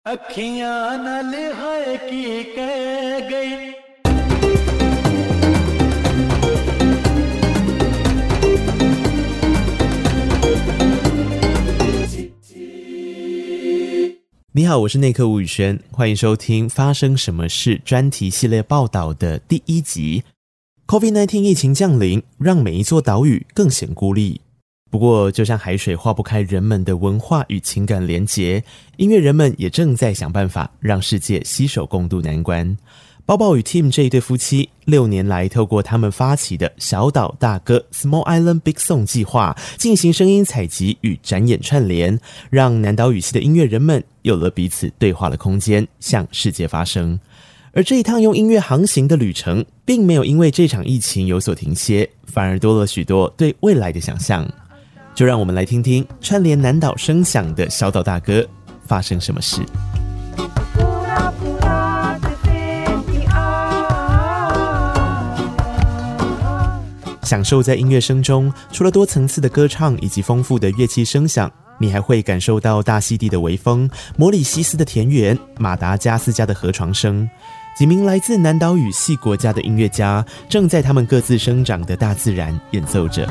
अखियां न लिहाए की कह गई 你好，我是內克吳宇軒，歡迎收聽發生什麼事專題系列報道的第一集。COVID-19 疫情降臨，讓每一座島嶼更顯孤立。不過，就像海水化不開人們的文化與情感連結，音樂人們也正在想辦法讓世界攜手共度難關。寶寶與 Tim 這一對夫妻6年來透過他們發起的小島大歌 Small Island Big Song 計劃進行聲音採集與展演串聯，讓南島語系的音樂人們有了彼此對話的空間，向世界發聲。而這一趟用音樂航行的旅程並沒有因為這場疫情有所停歇，反而多了許多對未來的想象。就讓我們來聽聽串聯南島聲響的小島大歌發生什麼事。享受在音樂聲中，除了多層次的歌唱以及豐富的樂器聲響，你還會感受到大溪地的微風、摩里西斯的田園、馬達加斯加的河床聲。幾名來自南島語系國家的音樂家正在他們各自生長的大自然演奏着。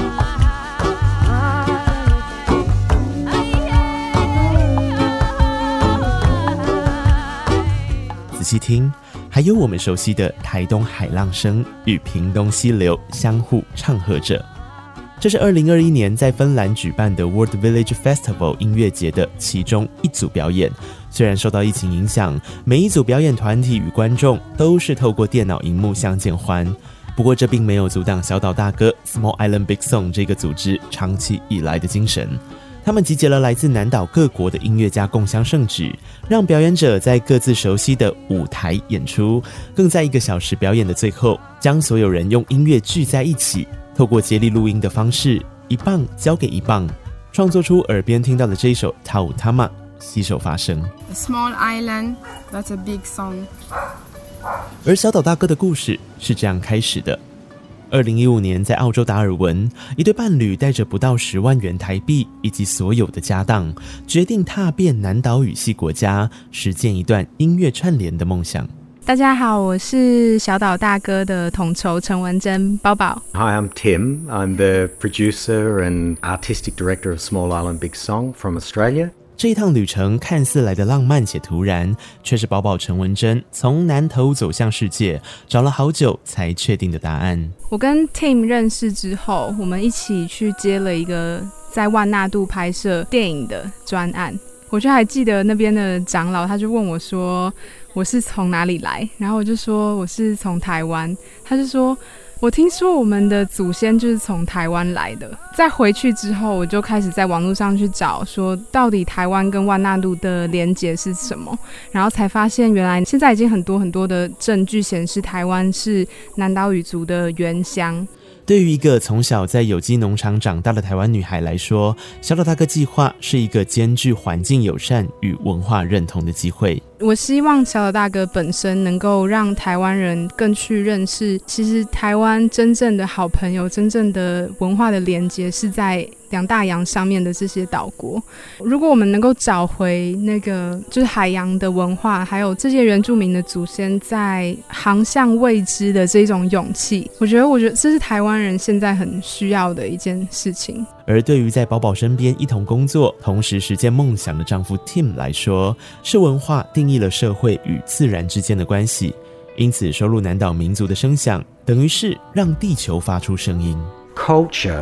仔細聽，還有我們熟悉的台東海浪聲與屏東溪流相互唱和着。這是2021年在芬蘭舉辦的 World Village Festival 音樂節的其中一組表演。雖然受到疫情影響，每一組表演團體與觀眾都是透過電腦熒幕相見歡，不過這並沒有阻擋小島大歌 Small Island Big Song 這個組織長期以來的精神。他們集結了來自南島各國的音樂家共襄盛舉，讓表演者在各自熟悉的舞台演出，更在1個小時表演的最後，將所有人用音樂聚在一起，透過接力錄音的方式，一棒交給一棒，創作出耳邊聽到的這一首 Tautama 攜手發聲。 A small island, that's a big song. 而小島大歌的故事是這樣開始的。2015年，在澳洲達爾文，一對伴侶帶着不到10萬元台幣以及所有的家當，決定踏遍南島語系國家，實踐一段音樂串聯的夢想。 大家好，我是小島大歌的統籌陳文珍，寶寶。 Hi, I'm Tim. I'm the producer and artistic director of Small Island Big Song from Australia. 這一趟旅程看似來得浪漫且突然，卻是寶寶陳文珍從南投走向世界，找了好久才確定的答案。 我跟 Tim 認識之後，我們一起去接了一個在萬納度拍攝電影的專案。我就還記得那邊的長老，他就問我說我是從哪裡來，然後我就說我是從台灣，他就說我聽說我們的祖先就是從台灣來的。在回去之後，我就開始在網絡上去找，說到底台灣跟萬納度的連結是什麼，然後才發現原來現在已經很多的證據顯示台灣是南島語族的原鄉。 對於一個從小在有機農場長大的台灣女孩來說，小島大歌計劃是一個兼具環境友善與文化認同的機會。 我希望小島大歌本身能夠讓台灣人更去認識，其實台灣真正的好朋友，真正的文化的連接是在兩大洋上面的這些島國。如果我們能夠找回那個就是海洋的文化，還有這些原住民的祖先在航向未知的這種勇氣，我覺得這是台灣人現在很需要的一件事情。 而對於在寶寶身邊一同工作，同時實踐夢想的丈夫 Tim 來說，是文化定義了社會與自然之間的關係，因此收錄南島民族的聲響，等於是讓地球發出聲音。 Culture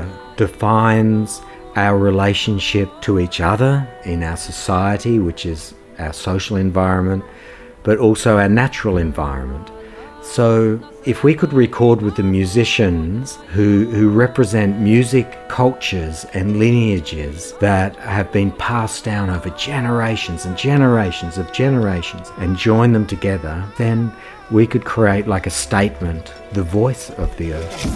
defines our relationship to each other in our society, which is our social environment, but also our natural environment. So if we could record with the musicians who represent music cultures and lineages that have been passed down over generations and generations of generations and join them together, then we could create like a statement, the voice of the earth.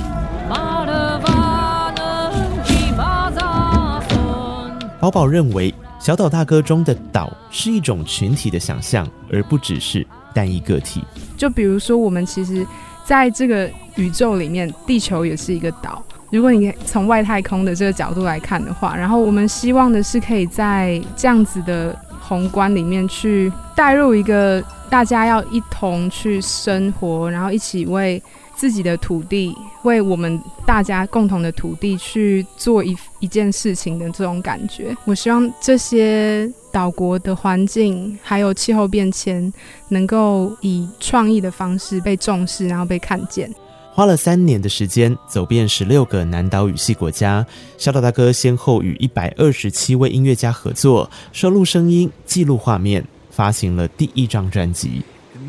寶寶認為小島大歌中的島是一種群體的想象，而不只是單一個體。 就比如說我們其實在這個宇宙裡面，地球也是一個島。如果你從外太空的這個角度來看的話，然後我們希望的是可以在這樣子的宏觀裡面去帶入一個大家要一同去生活，然後一起為自己的土地，為我們大家共同的土地去做一件事情的这種感觉。我希望這些島國的環境還有氣候變遷能夠以創意的方式被重視，然後被看見。 花了3年的時間，走遍16個南島語系國家，小島大哥先後與127位音樂家合作，收錄聲音，記錄畫面，發行了第1張專輯。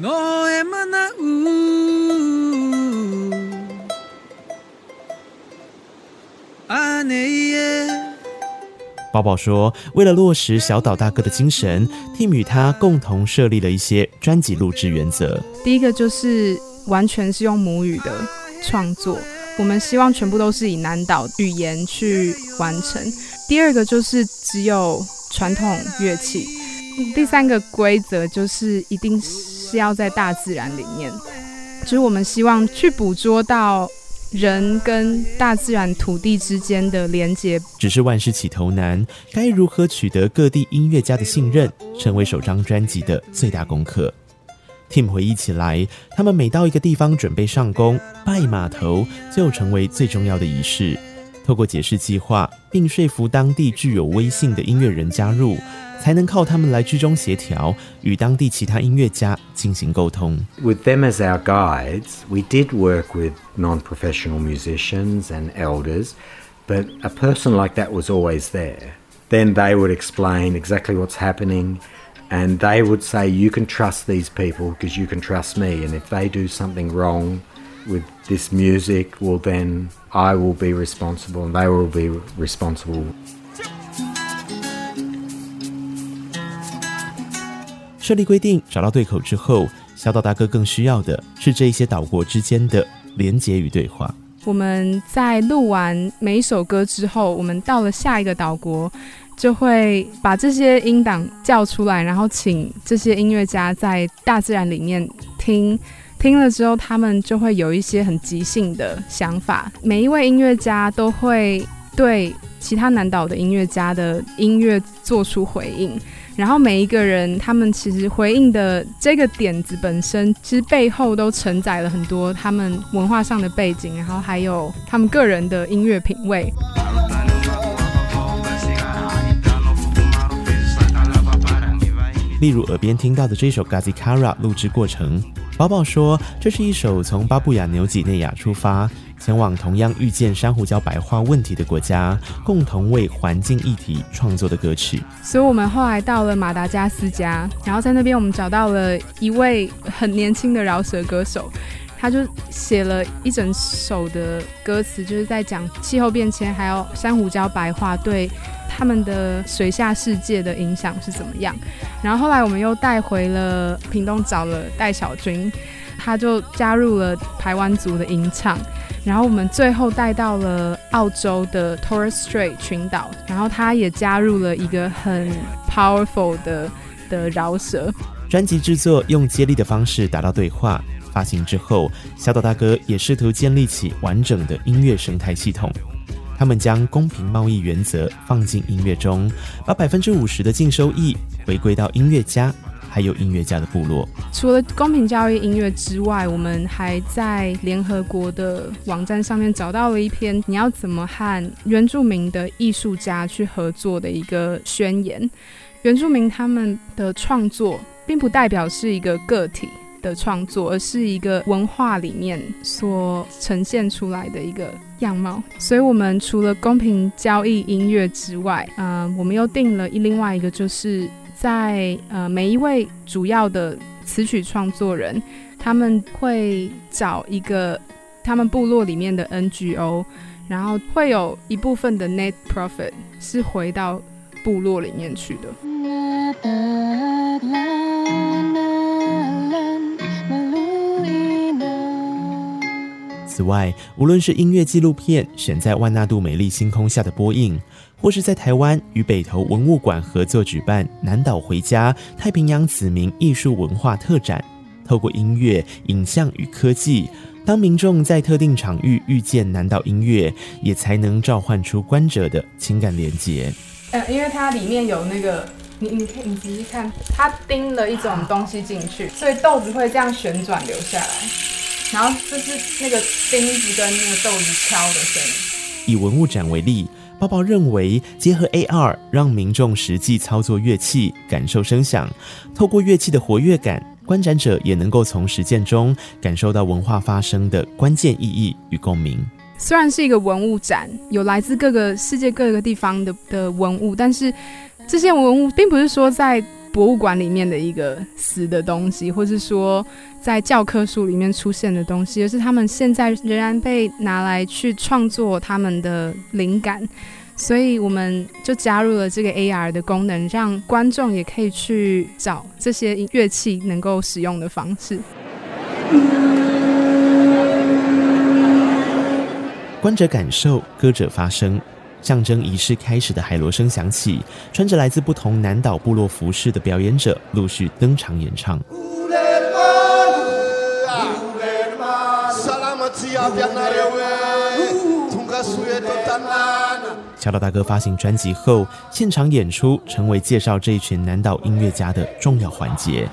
寶寶說，為了落實小島大哥的精神， Tim 與他共同設立了一些專輯錄製原則。 第一個就是完全是用母語的創作，我們希望全部都是以南島語言去完成。第二個就是只有傳統樂器。第三個規則就是一定是要在大自然裡面，就是我們希望去捕捉到人跟大自然土地之間的連結。 只是萬事起頭難，該如何取得各地音樂家的信任，成為首張專輯的最大功課。Tim 回憶起來，他們每到一個地方準備上工，拜碼頭就成為最重要的儀式。透過解釋計劃，並說服當地具有威信的音樂人加入，才能靠他們來居中協調，與當地其他音樂家進行溝通。 With them as our guides, we did work with non-professional musicians and elders, but a person like that was always there. Then they would explain exactly what's happening, and they would say, you can trust these people because you can trust me, and if they do something wrong with this music, well then I will be responsible and they will be responsible. 設立規定，找到對口之後，小島大哥更需要的是這一些島國之間的連結與對話。 我們在錄完每一首歌之後，我們到了下一個島國，就會把這些音檔叫出來，然後請這些音樂家在大自然裡面聽了之後，他們就會有一些很即興的想法。每一位音樂家都會對其他南島的音樂家的音樂做出回應，然後每一個人他們其實回應的這個點子本身，其實背後都承載了很多他們文化上的背景，然後還有他們個人的音樂品味。 例如耳邊聽到的這首 Gazikara 錄製過程，寶寶說這是一首從巴布亞紐幾內亞出發，前往同樣遇見珊瑚礁白化問題的國家，共同為環境議題創作的歌曲。 所以我們後來到了馬達加斯加，然後在那邊我們找到了一位很年輕的饒舌歌手，他就寫了一整首的歌詞，就是在講氣候變遷還有珊瑚礁白化對他們的水下世界的影響是怎麼樣。然後後來我們又帶回了屏東，找了戴小軍，他就加入了排灣族的吟唱。然後我們最後帶到了澳洲的 Torres Strait 群島，然後他也加入了一個很 powerful 的饒舌。 專輯製作用接力的方式達到對話，發行之後，小島大哥也試圖建立起完整的音樂生態系統。他們將公平貿易原則放進音樂中，把50%的淨收益回歸到音樂家還有音樂家的部落。 除了公平交易音樂之外，我們還在聯合國的網站上面找到了一篇你要怎麼和原住民的藝術家去合作的一個宣言。原住民他們的創作並不代表是一個個體的創作，而是一個文化裡面所呈現出來的一個樣貌。所以我們除了公平交易音樂之外，我們又定了另外一個，就是在每一位主要的詞曲創作人，他們會找一個他們部落裡面的 NGO， 然後會有一部分的 net profit 是回到部落裡面去的。 此外，無論是音樂紀錄片選在萬納度美麗星空下的播映，或是在台灣與北投文物館合作舉辦南島回家太平洋子民藝術文化特展，透過音樂、影像與科技，當民眾在特定場域遇見南島音樂，也才能召喚出觀者的情感連結。 因為它裡面有那個你可以你仔細看，它釘了一種東西進去，所以豆子會這樣旋轉流下來，然後這是那個釘子跟那個豆子敲的聲音。 以文物展為例，包包認為結合 AR 讓民眾實際操作樂器，感受聲響，透過樂器的活躍感，觀展者也能夠從實踐中感受到文化發生的關鍵意義與共鳴。 雖然是一個文物展，有來自世界各個地方的文物，但是這些文物並不是說在博物館裡面的一個死的東西，或是說在教科書裡面出現的東西，而是他們現在仍然被拿來去創作他們的靈感。所以我們就加入了這個 AR 的功能，讓觀眾也可以去找這些樂器能夠使用的方式。 觀者感受，歌者發聲，象徵儀式開始的海螺聲響起，穿着來自不同南島部落服飾的表演者陸續登場演唱。小島大哥發行專輯後，現場演出成為介紹這一群南島音樂家的重要環節。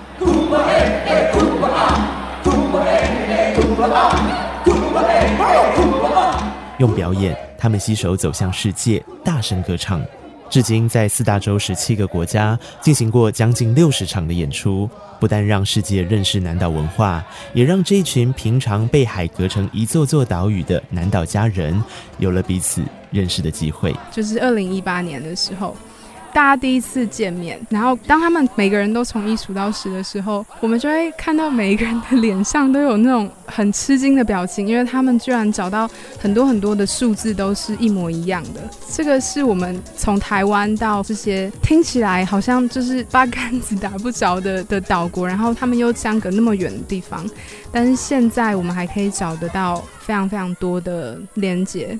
用表演，他們攜手走向世界，大聲歌唱。至今在4大洲17個國家進行過將近60場的演出，不但讓世界認識南島文化，也讓這一群平常被海隔成一座座島嶼的南島家人有了彼此認識的機會。 就是2018年的時候，大家第一次見面，然後當他们每個人都從1數到10的時候，我們就會看到每一個人的臉上都有那種很吃驚的表情，因為他們居然找到很多很多的數字都是一模一樣的。這個是我們從台灣到這些聽起來好像就是八竿子打不着的島國，然後他們又相隔那麼遠的地方，但是現在我們還可以找得到非常非常多的連結。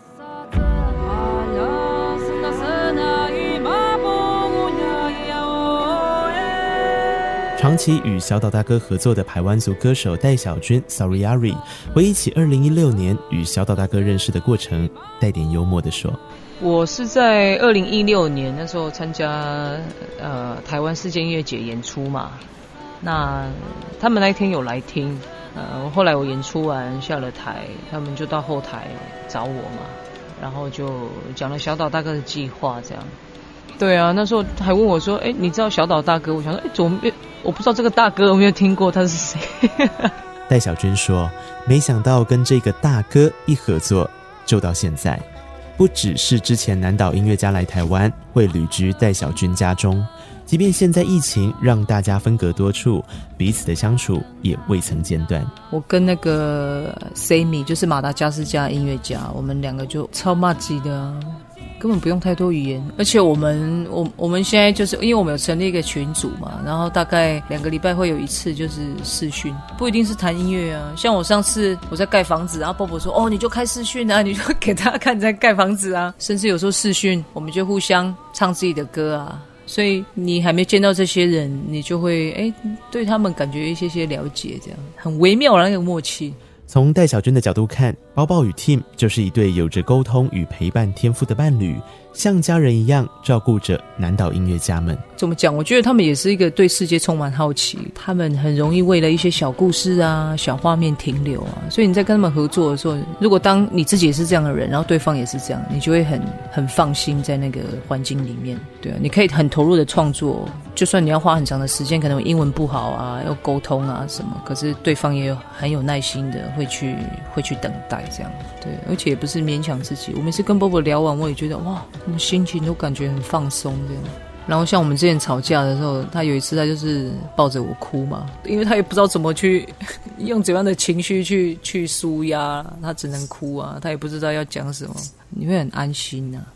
長期與小島大哥合作的排灣族歌手戴小君 Sariari 回憶起2016年與小島大哥認識的過程，帶點幽默地說： 我是在2016年那時候參加台灣世界音樂節演出嘛，那他們那一天有來聽，後來我演出完下了台，他們就到後台找我嘛，然後就講了小島大哥的計劃這樣。對啊，那時候還問我說：“你知道小島大哥？”我想說：“怎麼我不知道這個大哥，我沒有聽過他是誰。” 戴小君說：“沒想到跟這個大哥一合作，就到現在，不只是之前南島音樂家來台灣會旅居戴小君家中，即便現在疫情讓大家分隔多處，彼此的相處也未曾間斷。” 我跟那個 Sammy 就是馬達加斯加音樂家，我們兩個就超麻吉的啊。根本不用太多語言，而且我們現在就是因為我們有成立一個群組嘛，然後大概2個禮拜會有一次就是視訊，不一定是談音樂啊。像我上次我在蓋房子，然後波波說：“哦，你就開視訊啊，你就給大家看你在蓋房子啊。”甚至有時候視訊，我們就互相唱自己的歌啊。所以你還沒見到這些人，你就會對他們感覺一些了解，這樣很微妙的那個默契。 從戴小君的角度看，包包與 Tim 就是一對有着溝通與陪伴天賦的伴侶，像家人一樣照顧着南島音樂家們。 怎麼講？我覺得他們也是一個對世界充滿好奇，他們很容易為了一些小故事啊、小畫面停留啊。所以你在跟他們合作的時候，如果當你自己也是這樣的人，然後對方也是這樣，你就會很放心在那個環境裡面。對啊，你可以很投入的創作，就算你要花很長的時間，可能英文不好啊，要溝通啊什麼，可是對方也很有耐心的會去等待這樣。對，而且也不是勉強自己。我每次跟波波聊完，我也覺得哇，我們心情都感覺很放鬆這樣。然後像我們之前吵架的時候，他有一次他就是抱着我哭嘛，因為他也不知道怎麼去用怎樣的情緒去抒壓，他只能哭啊，他也不知道要講什麼，你會很安心啊。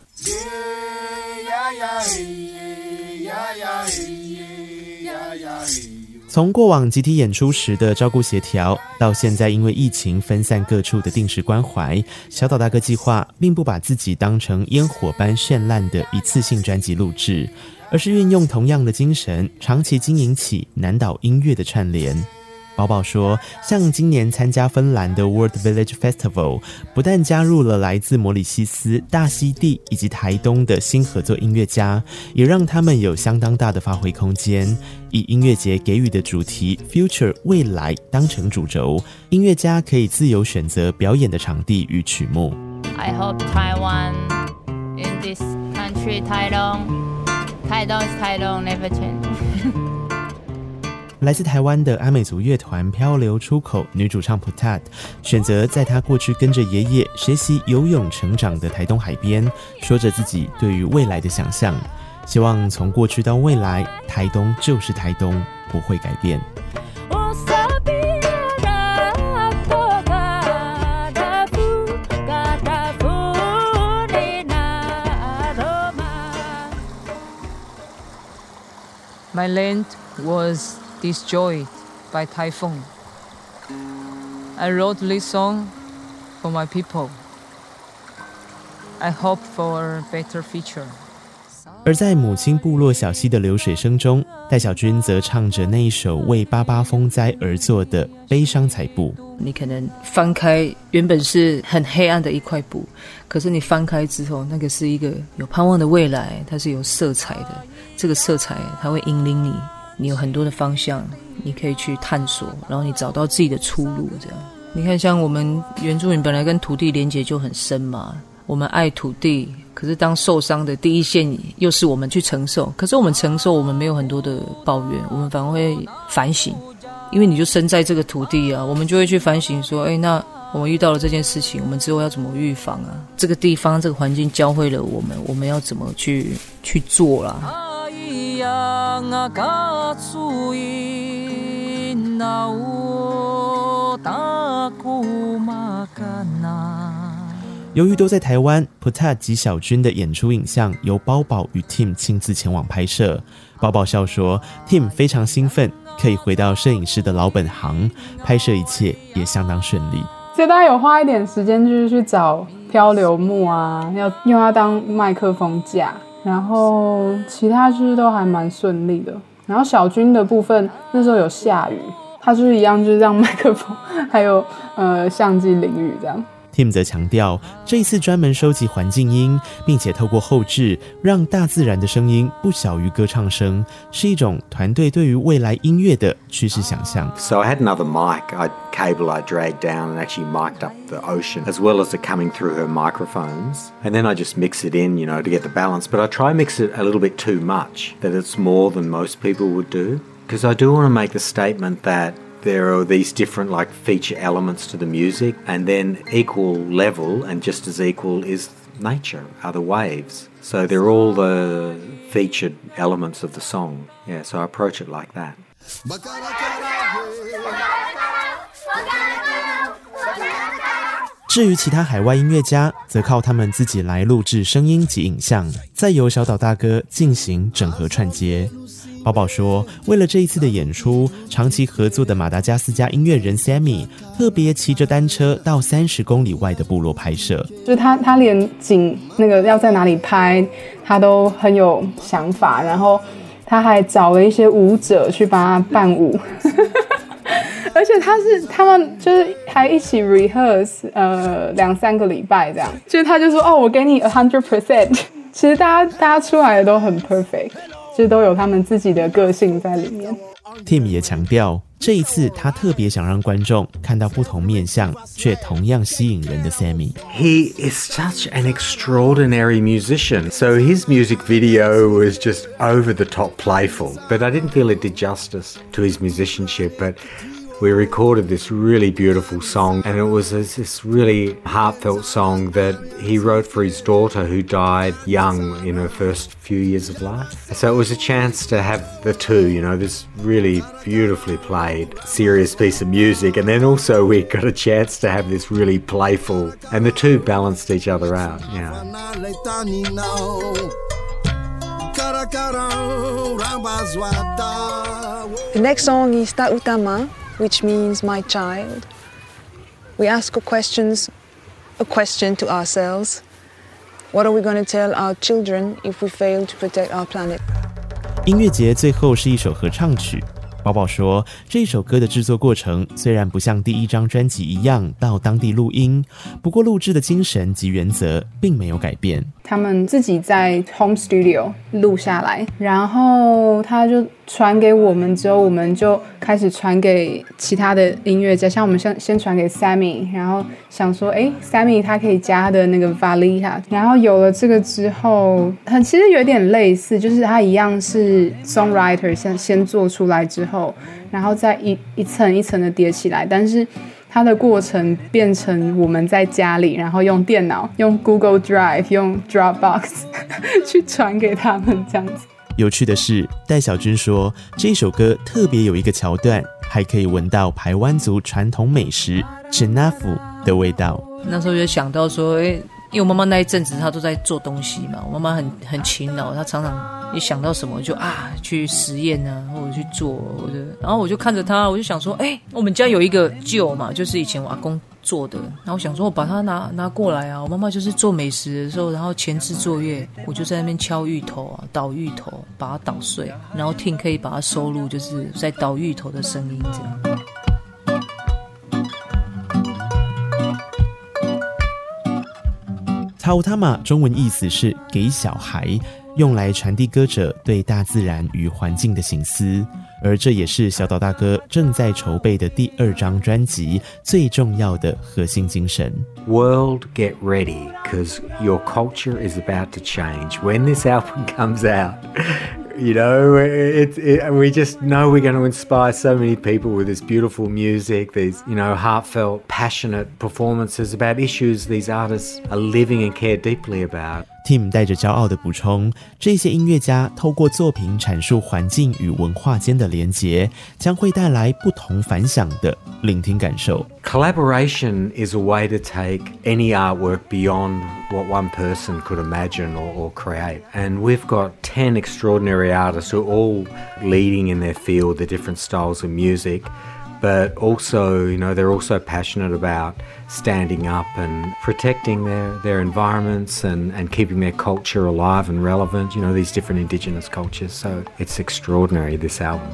從過往集體演出時的照顧協調，到現在因為疫情分散各處的定時關懷，小島大哥計劃並不把自己當成煙火般絢爛的一次性專輯錄製，而是運用同樣的精神，長期經營起南島音樂的串聯。 寶寶說，像今年參加芬蘭的 World Village Festival， 不但加入了來自摩里西斯、大溪地以及台東的新合作音樂家，也讓他們有相當大的發揮空間。以音樂節給予的主題 Future 未來當成主軸，音樂家可以自由選擇表演的場地與曲目。 I hope Taiwan in this country, Taiwan is Taiwan, never change. 來自台灣的阿美族樂團漂流出口女主唱 Putat 選擇在她過去跟着爺爺學習游泳成長的台東海邊，說着自己對於未來的想象，希望從過去到未來，台東就是台東，不會改變。 My land was destroyed by typhoon. I wrote this song for my people. I hope for a better future. 而在母親部落小溪的流水聲中，戴小君則唱着那一首為88風災而作的悲傷彩布。 你可能翻開原本是很黑暗的一塊布，可是你翻開之後，那個是一個有盼望的未來，它是有色彩的。這個色彩它會引領你，你有很多的方向，你可以去探索，然後你找到自己的出路。這樣，你看，像我們原住民本來跟土地連結就很深嘛，我們愛土地，可是當受傷的第一線又是我們去承受。可是我們承受，我們沒有很多的抱怨，我們反而會反省，因為你就生在這個土地啊，我們就會去反省說，那我們遇到了這件事情，我們之後要怎麼預防啊？這個地方這個環境教會了我們要怎麼去做啦。 由於都在台灣 ，Putat 及小君的演出影像由包寶與 Tim 親自前往拍攝。包寶笑說 ，Tim 非常興奮，可以回到攝影師的老本行，拍攝一切也相當順利。 所以大家有花一點時間，就是去找漂流木啊，要用它當麥克風架，然後其他就是都還蠻順利的。然後小君的部分那時候有下雨，他就是一樣，就是讓麥克風還有相機淋雨這樣。 Tim 則強調，這一次專門收集環境音，並且透過後製讓大自然的聲音不小於歌唱聲，是一種團隊對於未來音樂的趨勢想象。 So I had another mic, cable I dragged down and actually mic'd up the ocean as well as it coming through her microphones. And then I just mix it in, to get the balance. But I try mix it a little bit too much, that it's more than most people would do. Because I do want to make the statement that there are these different feature elements to the music, and then equal level and just as equal is nature, are the waves. So they're all the featured elements of the song. Yeah, so I approach it like that. 至於其他海外音樂家，則靠他們自己來錄製聲音及影像，再由小島大哥進行整合串接。寶寶說，為了這一次的演出，長期合作的馬達加斯加音樂人 Sammy 特別騎着單車到30公里外的部落拍攝。 就是他連景那個要在哪裡拍，他都很有想法，然後他還找了一些舞者去幫他伴舞。而且他們就是還一起 rehearse 2-3個禮拜這樣，就是他就說我給你 100%， 其實大家出來的都很 perfect， 就都有他們自己的個性在裡面。 Tim 也強調，這一次他特別想讓觀眾看到不同面向卻同樣吸引人的 Sammy。 He is such an extraordinary musician. So his music video was just over the top playful, but I didn't feel it did justice to his musicianship. But we recorded this really beautiful song, and it was this really heartfelt song that he wrote for his daughter who died young in her first few years of life. So it was a chance to have the two, this really beautifully played, serious piece of music, and then also we got a chance to have this really playful, and the two balanced each other out. Yeah. The next song is Ta Utama, which means my child. We ask a question to ourselves. What are we going to tell our children if we fail to protect our planet? 音樂節最後是一首合唱曲， 寶寶說，這一首歌的製作過程雖然不像第一張專輯一樣到當地錄音，不過錄製的精神及原則並沒有改變。 他們自己在 home studio 錄下來，然後他就傳給我們之後，我們就開始傳給其他的音樂家，像我們先傳給 Sammy， 然後想說Sammy 他可以加他的那個 Valija， 然後有了這個之後，其實有點類似，就是他一樣是 songwriter 先做出來之後，然後再一層一層的疊起來，但是它的過程變成我們在家裡，然後用電腦、用 Google Drive、用 Dropbox 去傳給他們這樣子。 有趣的是，戴小君說，這首歌特別有一個橋段，還可以聞到排灣族傳統美食 Cinafu 的味道。 那時候就想到說，因為我媽媽那一陣子她都在做東西嘛，我妈媽很勤勞，她常常一想到什麼就去實驗啊，或者去做，然後我就看着她，我就想說，我們家有一個臼嘛，就是以前我阿公做的，然後我想說我把它拿過來啊，我媽媽就是做美食的時候，然后前置作業，我就在那邊敲芋頭啊，捣芋頭，把它搗碎，然後听可以把它收錄，就是在捣芋頭的聲音這樣。 Tautama 中文意思是給小孩，用來傳遞歌者對大自然與環境的省思，而這也是小島大哥正在籌備的第2張專輯最重要的核心精神。 World, get ready, because your culture is about to change. When this album comes out, you know, we just know we're going to inspire so many people with this beautiful music, these, you know, heartfelt, passionate performances about issues these artists are living and care deeply about. Tim 帶着驕傲的補充，這些音樂家透過作品闡述環境與文化間的連結，將會帶來不同凡響的聆聽感受。 Collaboration is a way to take any artwork beyond what one person could imagine or create. And we've got 10 extraordinary artists who are all leading in their field, the different styles of music. But also, you know, they're also passionate about standing up and protecting their environments and keeping their culture alive and relevant, you know, these different indigenous cultures. So it's extraordinary, this album.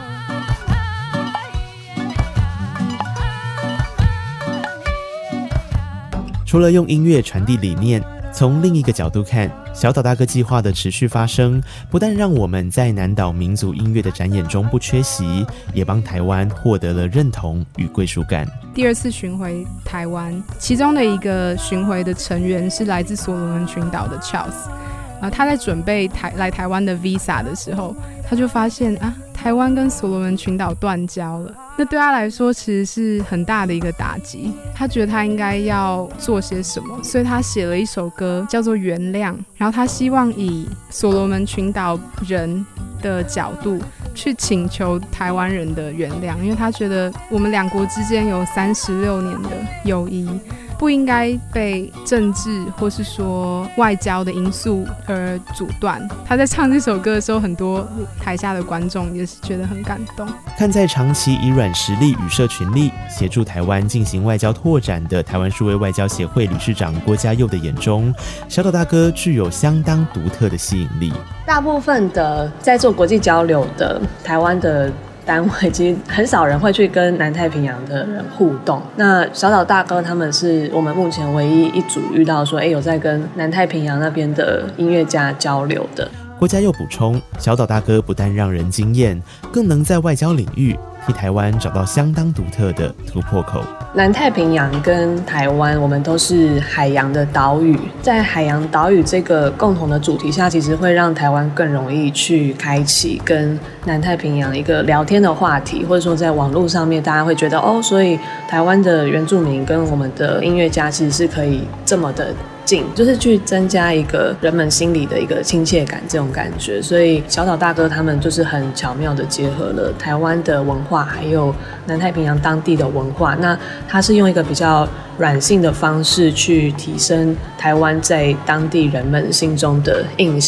除了用音樂傳遞理念，從另一個角度看，小島大哥計劃的持續發生，不但讓我們在南島民族音樂的展演中不缺席，也幫台灣獲得了認同與歸屬感。 第2次巡迴台灣，其中的一個巡迴的成員是來自所羅門群島的 Charles。他在準備來台灣的 visa 的時候，他就發現台灣跟所羅門群島斷交了。那對他來說其實是很大的一個打擊，他覺得他應該要做些什麼，所以他寫了一首歌叫做《原諒》，然後他希望以所羅門群島人的角度去請求台灣人的原諒，因為他覺得我們兩國之間有36年的友誼，不應該被政治或是說外交的因素而阻斷。他在唱這首歌的時候，很多台下的觀眾也是覺得很感動。 看在長期以軟實力與社群力協助台灣進行外交拓展的台灣數位外交協會理事長郭家佑的眼中，小島大哥具有相當獨特的吸引力。 大部分的在做國際交流的台灣的單位，其實很少人會去跟南太平洋的人互動。那小島大哥他們是我們目前唯一一組遇到說，有在跟南太平洋那邊的音樂家交流的。 郭家佑補充，小島大哥不但讓人驚豔，更能在外交領域替台灣找到相當獨特的突破口。 南太平洋跟台灣，我們都是海洋的島嶼，在海洋島嶼這個共同的主題下，其實會讓台灣更容易去開啟跟南太平洋一個聊天的話題，或者說在網絡上面，大家會覺得所以台灣的原住民跟我們的音樂家其實是可以這麼的近，就是去增加一個人們心裡的一個親切感，這種感覺。所以小島大哥他們就是很巧妙的結合了台灣的文化還有南太平洋當地的文化，那他是用一個比較軟性的方式去提升台灣在當地人們心中的印象。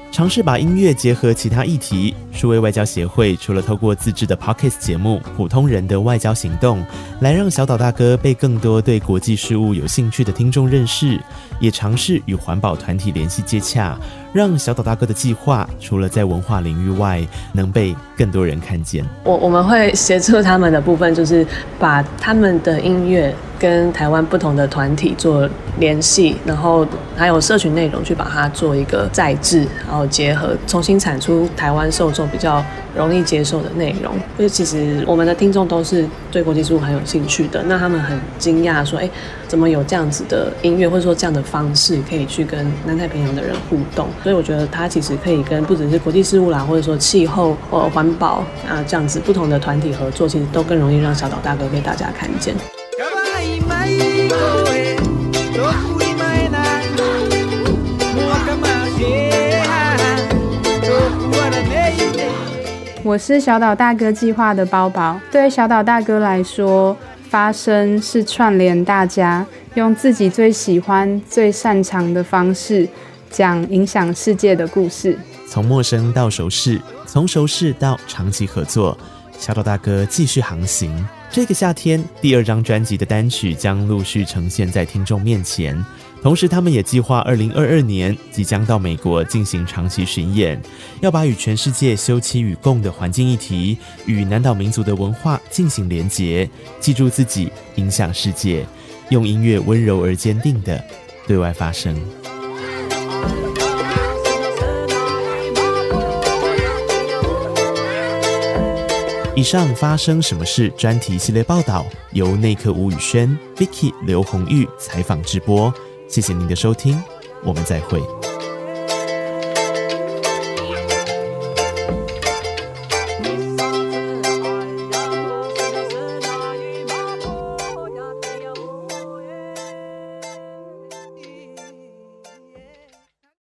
嘗試把音樂結合其他議題。數位外交協會除了透過自制的 Podcast 節目《普通人的外交行動》來讓小島大哥被更多對國際事務有興趣的聽眾認識，也嘗試與環保團體聯繫接洽，讓小島大哥的計劃除了在文化領域外能被更多人看見。 我們會協助他們的部分就是把他們的音樂跟台灣不同的團體做聯繫，然後還有社群內容去把它做一個再制，然後結合，重新產出台灣受眾比較容易接受的內容。因為其實我們的聽眾都是對國際事務很有興趣的，那他們很驚訝說，怎麼有這樣子的音樂或者說這樣的方式可以去跟南太平洋的人互動？所以我覺得它其實可以跟不只是國際事務啦，或者說氣候或環保啊這樣子不同的團體合作，其實都更容易讓小島大哥被大家看見。 我是小島大哥計劃的包包。對小島大哥來說，發聲是串聯大家，用自己最喜歡、最擅長的方式講影響世界的故事。 從陌生到熟識，從熟識到長期合作，小島大哥繼續航行。這個夏天，第2張專輯的單曲將陸續呈現在聽眾面前。同時，他們也計劃2022年即將到美國進行長期巡演，要把與全世界休戚與共的環境議題與南島民族的文化進行連結，記住自己，影響世界，用音樂溫柔而堅定地對外發聲。以上發生什麼事專題系列報道由內克吳宇軒、Vicky 劉紅玉採訪直播。謝謝您的收聽，我們再會。